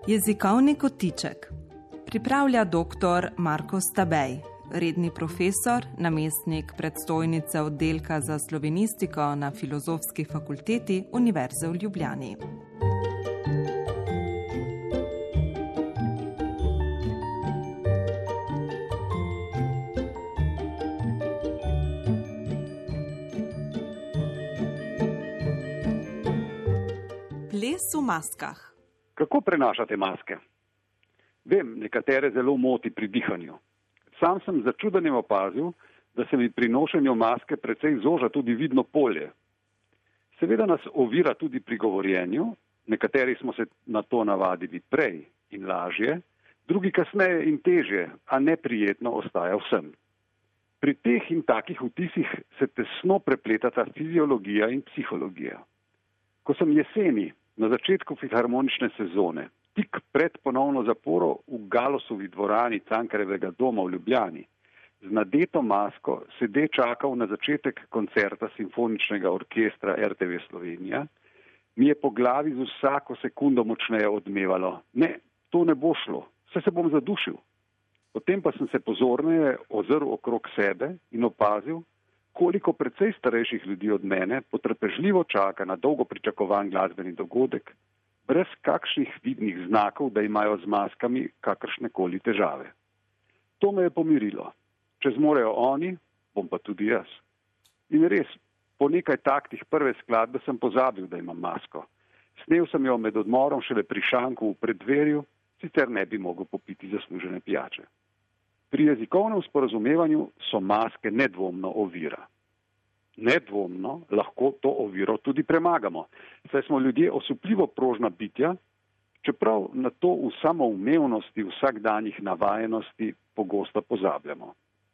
Jezikovni kotiček pripravlja dr. Marko Stabej, redni profesor, namestnik predstojnice oddelka za slovenistiko na Filozofski fakulteti Univerze v Ljubljani. Ples v maskah. Kako prenašate maske? Vem, nekatere zelo moti pri dihanju. Sam sem začudenjem opazil, da se mi pri nošenju maske precej zoža tudi vidno polje. Seveda nas ovira tudi pri govorjenju, nekateri smo se na to navadili prej in lažje, drugi kasneje in težje, a neprijetno ostaja vsem. Pri teh in takih vtisih se tesno prepletata fiziologija in psihologija. Ko sem jeseni, na začetku filharmonične sezone, tik pred ponovno zaporo v Galosovi dvorani Cankarjevega doma v Ljubljani, z nadeto masko sede čakal na začetek koncerta simfoničnega orkestra RTV Slovenija, mi je po glavi z vsako sekundo močneje odmevalo: ne, to ne bo šlo, saj se bom zadušil. Potem pa sem se pozorneje ozrl okrog sebe in opazil, koliko precej starejših ljudi od mene potrpežljivo čaka na dolgo pričakovan glasbeni dogodek, brez kakšnih vidnih znakov, da imajo z maskami kakršnekoli težave. To me je pomirilo. Če zmorejo oni, bom pa tudi jaz. In res, po nekaj taktih prve skladbe sem pozabil, da imam masko. Snel sem jo med odmorom šele pri šanku v preddverju, sicer ne bi mogel popiti zaslužene pijače. Pri jezikovnem sporazumevanju so maske nedvomno ovira. Nedvomno lahko to oviro tudi premagamo, saj smo ljudje osupljivo prožna bitja, čeprav na to v samoumevnosti vsakdanjih navajenosti pogosto pozabljamo.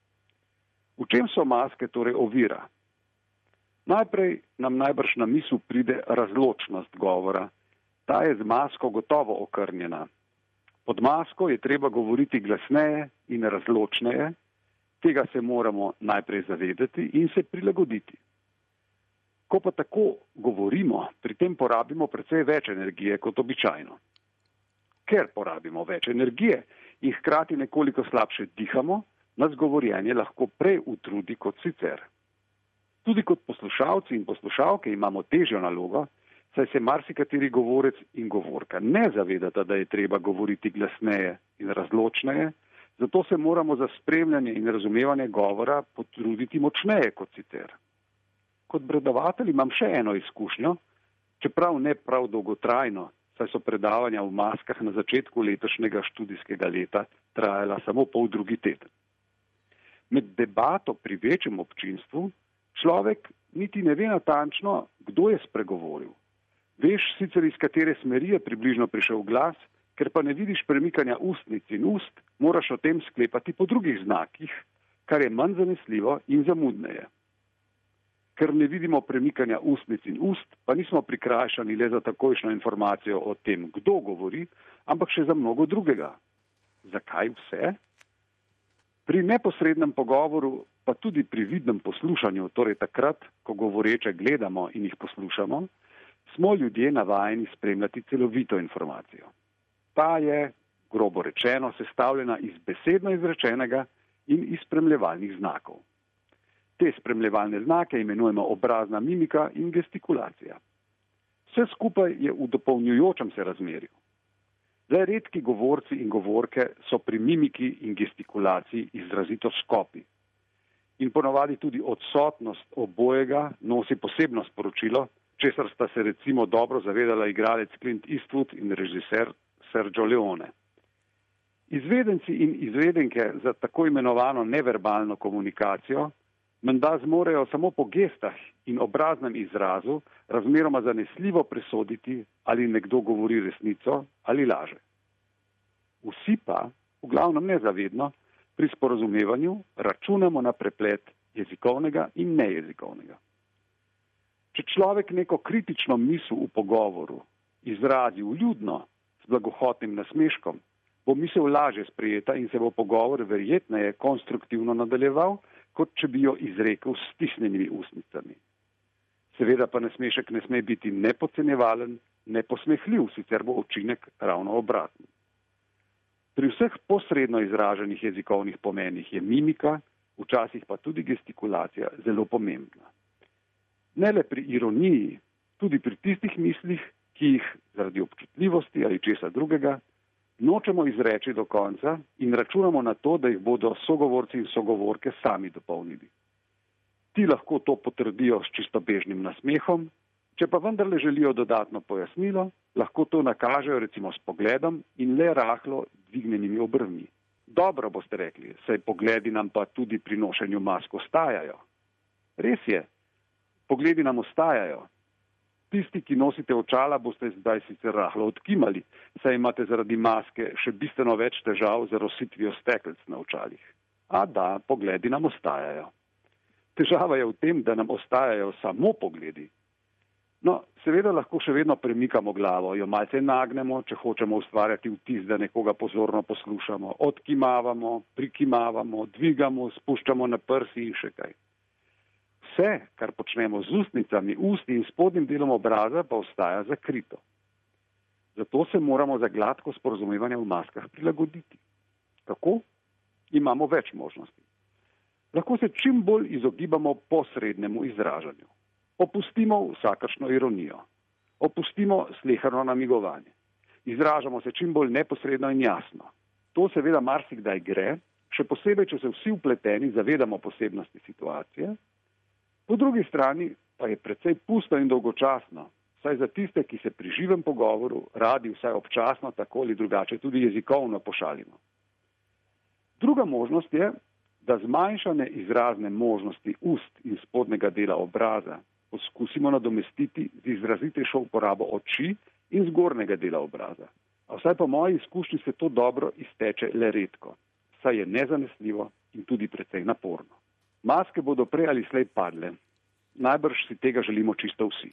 V čem so maske torej ovira? Najprej nam najbrž na misel pride razločnost govora. Ta je z masko gotovo okrnjena. Pod masko je treba govoriti glasneje in razločneje, tega se moramo najprej zavedati in se prilagoditi. Ko pa tako govorimo, pri tem porabimo precej več energije kot običajno. Ker porabimo več energije in hkrati nekoliko slabše dihamo, nas govorjenje lahko prej utrudi kot sicer. Tudi kot poslušalci in poslušalke imamo težjo nalogo, saj se marsikateri govorec in govorka ne zavedata, da je treba govoriti glasneje in razločneje, zato se moramo za spremljanje in razumevanje govora potruditi močneje kot sicer. Kot predavatelj imam še eno izkušnjo, čeprav ne prav dolgotrajno, saj so predavanja v maskah na začetku letošnjega študijskega leta trajala samo poldrugi teden. Med debato pri večjem občinstvu človek niti ne ve natančno, kdo je spregovoril. Veš sicer, iz katere smeri je približno prišel glas, ker pa ne vidiš premikanja ustnic in ust, moraš o tem sklepati po drugih znakih, kar je manj zanesljivo in zamudneje. Ker ne vidimo premikanja ustnic in ust, pa nismo prikrajšani le za takojšnjo informacijo o tem, kdo govori, ampak še za mnogo drugega. Zakaj vse? Pri neposrednem pogovoru, pa tudi pri vidnem poslušanju, torej takrat, ko govoreče gledamo in jih poslušamo, smo ljudje navajeni spremljati celovito informacijo. Ta je, grobo rečeno, sestavljena iz besedno izrečenega in iz spremljevalnih znakov. Te spremljevalne znake imenujemo obrazna mimika in gestikulacija. Vse skupaj je v dopolnjujočem se razmerju. Le redki govorci in govorke so pri mimiki in gestikulaciji izrazito skopi. In ponavadi tudi odsotnost obojega nosi posebno sporočilo, česar sta se recimo dobro zavedala igralec Clint Eastwood in režiser Sergio Leone. Izvedenci in izvedenke za tako imenovano neverbalno komunikacijo menda zmorejo samo po gestah in obraznem izrazu razmeroma zanesljivo presoditi, ali nekdo govori resnico ali laže. Vsi pa, v glavnem nezavedno, pri sporazumevanju računamo na preplet jezikovnega in nejezikovnega. Če človek neko kritično misel v pogovoru izrazi vljudno, s blagohotnim nasmeškom, bo misel lažje sprejeta in se bo pogovor verjetneje konstruktivno nadaljeval, kot če bi jo izrekel s stisnjenimi ustnicami. Seveda pa nasmešek ne sme biti ne podcenjevalen, ne posmehljiv, sicer bo učinek ravno obraten. Pri vseh posredno izraženih jezikovnih pomenih je mimika, včasih pa tudi gestikulacija zelo pomembna. Ne le pri ironiji, tudi pri tistih mislih, ki jih zaradi občutljivosti ali česa drugega nočemo izreči do konca in računamo na to, da jih bodo sogovorci in sogovorke sami dopolnili. Ti lahko to potrdijo s čistobežnim nasmehom, če pa vendarle želijo dodatno pojasnilo, lahko to nakažejo recimo s pogledom in le rahlo dvignenimi obrvmi. Dobro boste rekli, saj pogledi nam pa tudi pri nošenju mask ostajajo. Res je, pogledi nam ostajajo. Tisti, ki nosite očala, boste zdaj sicer rahlo odkimali, saj imate zaradi maske še bistveno več težav z rositvijo stekelc na očalih. A da, pogledi nam ostajajo. Težava je v tem, da nam ostajajo samo pogledi. No, seveda lahko še vedno premikamo glavo, jo malce nagnemo, če hočemo ustvarjati vtis, da nekoga pozorno poslušamo, odkimavamo, prikimavamo, dvigamo, spuščamo na prsi in še kaj. Vse, kar počnemo z ustnicami, usti in spodnjim delom obraza, pa ostaja zakrito. Zato se moramo za gladko sporazumevanje v maskah prilagoditi. Kako? Imamo več možnosti. Lahko se čim bolj izogibamo posrednemu izražanju. Opustimo vsakršno ironijo. Opustimo sleherno namigovanje. Izražamo se čim bolj neposredno in jasno. To seveda marsikdaj gre, še posebej, če se vsi vpleteni zavedamo posebnosti situacije. Po drugi strani pa je precej pusto in dolgočasno, saj za tiste, ki se pri živem pogovoru radi vsaj občasno tako ali drugače tudi jezikovno pošalimo. Druga možnost je, da zmanjšane izrazne možnosti ust in spodnjega dela obraza poskusimo nadomestiti z izrazitejšo uporabo oči in zgornjega dela obraza. A vsaj po moji izkušnji se to dobro izteče le redko, saj je nezanesljivo in tudi precej naporno. Maske bodo prej ali slej padle. Najbrž si tega želimo čisto vsi.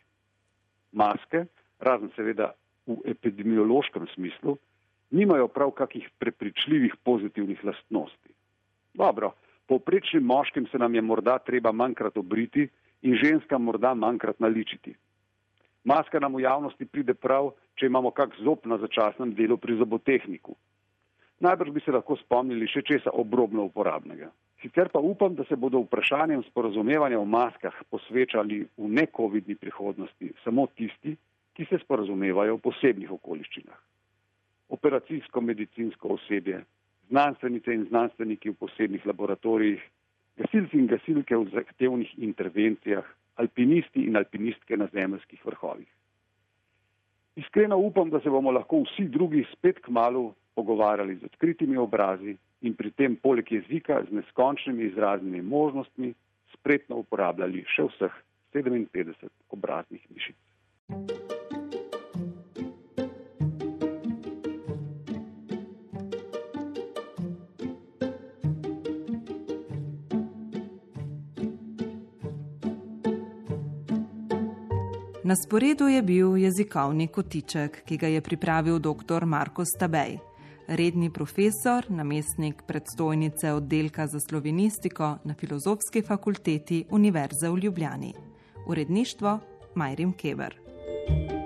Maske, razen seveda v epidemiološkem smislu, nimajo prav kakih prepričljivih pozitivnih lastnosti. Dobro, povprečnim moškim se nam je morda treba manjkrat obriti in ženskam morda manjkrat naličiti. Maska nam v javnosti pride prav, če imamo kak zob na začasnem delu pri zobotehniku. Najbrž bi se lahko spomnili še česa obrobno uporabnega. Sicer pa upam, da se bodo vprašanjem sporazumevanja v maskah posvečali v nekovidni prihodnosti samo tisti, ki se sporazumevajo v posebnih okoliščinah. Operacijsko-medicinsko osebje, znanstvenice in znanstveniki v posebnih laboratorijih, gasilci in gasilke v zahtevnih intervencijah, alpinisti in alpinistke na zemeljskih vrhovih. Iskreno upam, da se bomo lahko vsi drugi spet kmalu pogovarjali z odkritimi obrazi in pri tem poleg jezika z neskončnimi izraznimi možnostmi spretno uporabljali še vseh 57 obraznih mišic. Na sporedu je bil jezikovni kotiček, ki ga je pripravil dr. Marko Stabej, redni profesor, namestnik predstojnice oddelka za slovenistiko na Filozofski fakulteti Univerze v Ljubljani. Uredništvo Majrim Keber.